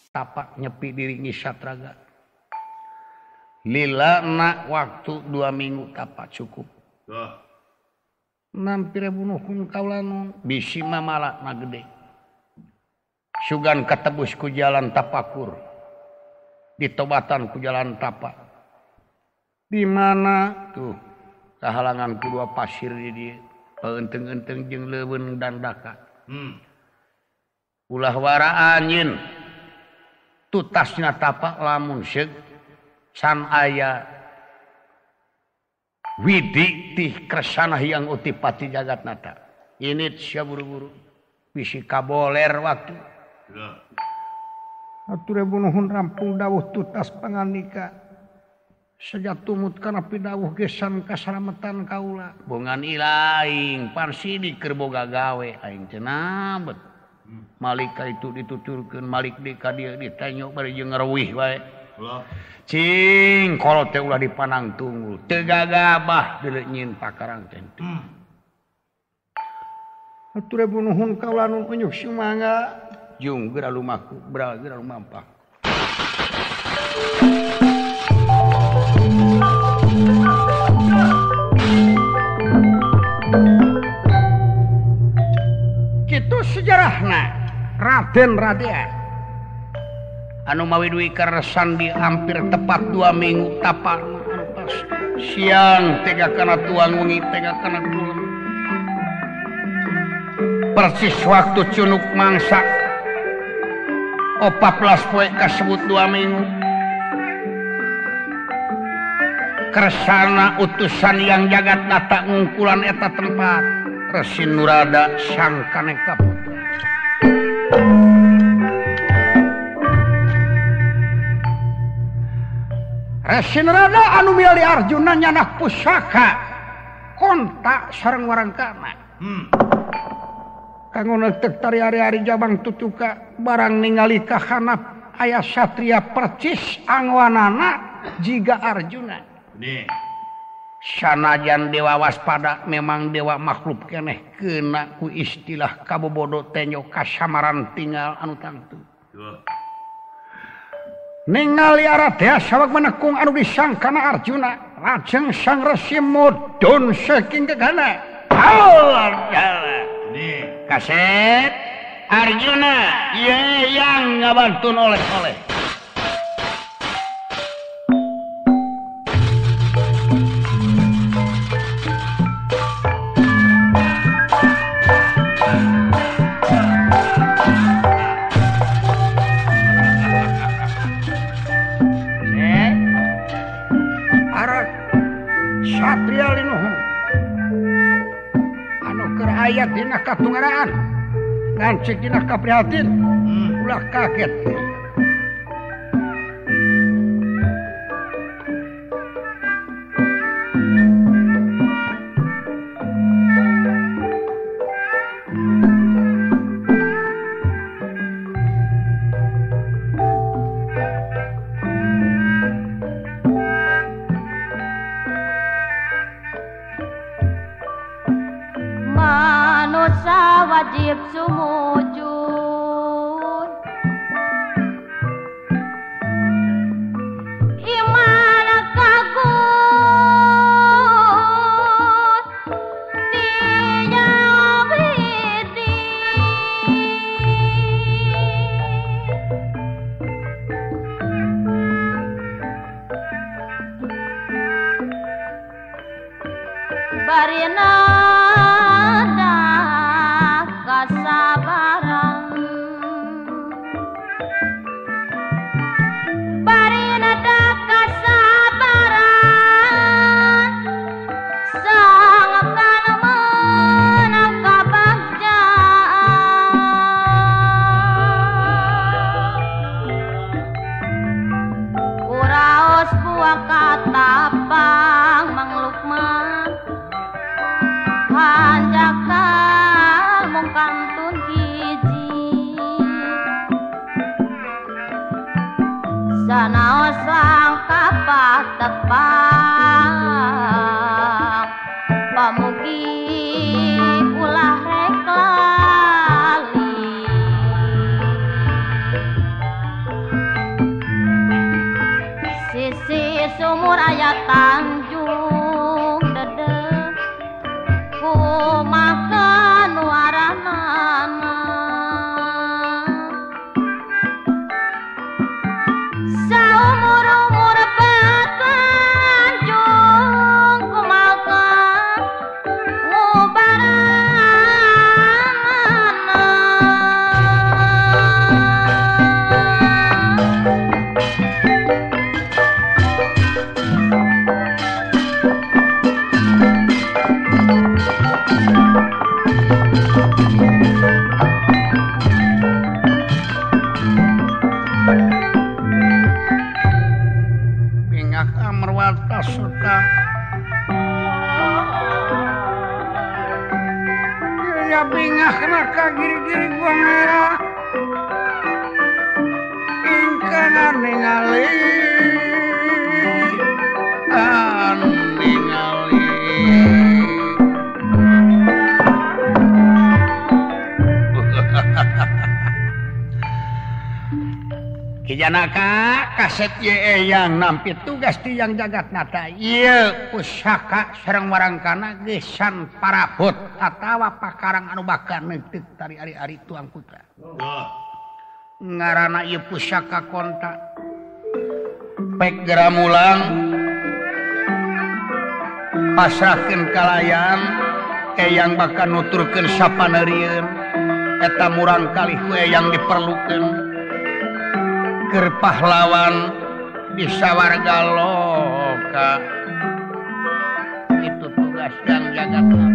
tapak nyepi diri ngisatraga. Lila nak waktu 2 minggu tapak cukup. Nampir bunuhun kaulan bisi mamala na gede. Sugan katebus ku jalan tapakur. Ditobatan ku jalan tapak. Di mana tuh kahalangan kedua pasir di dia. Enteng-enteng jeung leuweung dan daka. Ulah wara anjeun. Tutasna tapak lamun seug can aya widi tih kresana yang utipati jagat nata. Ini sia buru-buru bisi kaboler waktu. Atur bunuhun rampung dawuh tutas panganika. Sejatumut kana pidawuh gesan kasalametan kaula. Bongan ilaing pan sidik keur boga gawe aing teh nabet. Malika itu dituturkeun malik di ka dieu ditanyok bari jeung ngareuwih wae. Cing kolot teh ulah dipanang tunggul teu gagabah deuleu nyin pakarang teh. Atur bunuhun kaula nu unyuk sumangga jung geura lumaku geura lumampah. Kitu sejarahna Raden Radea anu mawi duwi karesan di hampir tepat 2 minggu tapak siang tega kana tuang wengi tega kana kulon persis waktu cunuk mangsa 14 poe kasebut 2 minggu keresana utusan yang jagat nata ngungkulan eta tempat Resi Nurada sang Kaneka Putra. Resi Nurada anu milih Arjuna nyanah pusaka kontak sareng warangkana. Kanggo neuteuk tari ari-ari jabang tutuka barang ningali ka hanap aya satria percis angwanana jiga Arjuna. Sanajan dewa waspada memang dewa makhluk keneh kena ku istilah kabobodo tenyo kasamaran tinggal anu tangtu. Ningali Aradea saweg menekung anu disangkana Arjuna lajeng sang resi mudun saking gegana. Kaset Arjuna ye yang ngabantun oleh-oleh. Ayat dina katunggaraan ngancik dina kaprihatin ulah kaget wajib sumujud iman kagut dijawabiti barina kasabaran barina da kasabaran sang kana meunang kabagjaan uraos buah katapang manglukman hanjakal mung kantun hiji sanaos sang kapatepang pamugi ulah rek lali Bingak Amarwata Suta ya bingak naka giri-giri gua merah ingkang ningali Kijanaka kaset ye yang nampi tugas ti yang jagat nata ieu pusaka sareng warangkana gesan parabot atawa pakarang anu bakal neuteuk tari ari-ari tuang putra. Ngaranna ieu pusaka konta pek geramulang pasrahkeun kalayan eyang bakal nuturkeun sapaneurieun eta murang kalih ku eyang diperlukeun keur pahlawan bisa warga loka itu tugas yang jagat